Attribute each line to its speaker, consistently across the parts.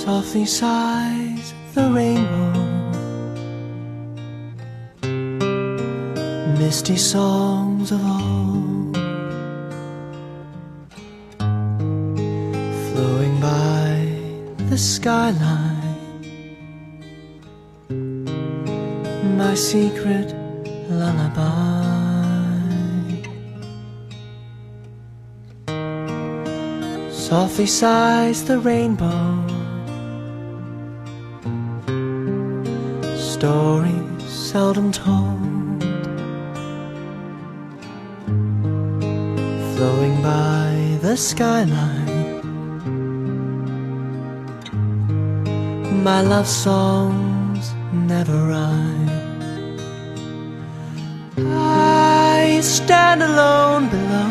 Speaker 1: Softly sighs the rainbow, misty songs of old, flowing by the skyline, my secret lullaby. Softly sighs the rainbow, stories seldom told, flowing by the skyline, my love songs never rhyme. I stand alone below,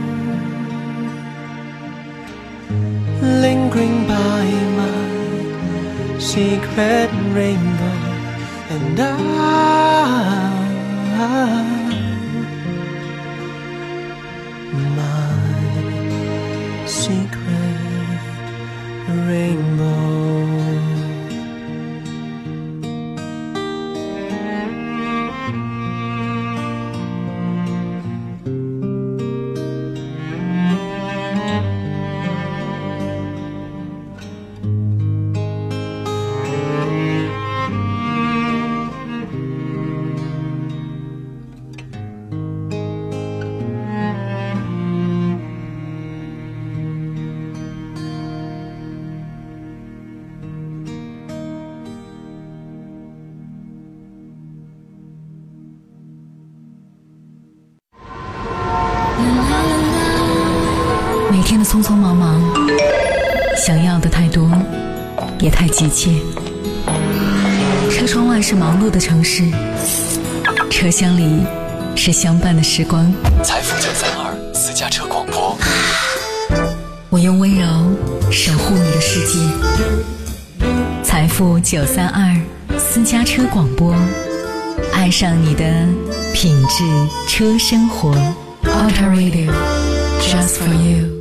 Speaker 1: lingering by my secret rainbow, and my secret rainbow.
Speaker 2: 每天的匆匆忙忙，想要的太多，也太急切。车窗外是忙碌的城市，车厢里是相伴的时光。
Speaker 3: 财富932私家车广播，
Speaker 2: 我用温柔守护你的世界。财富932私家车广播，爱上你的品质车生活。Auto Radio Just for you。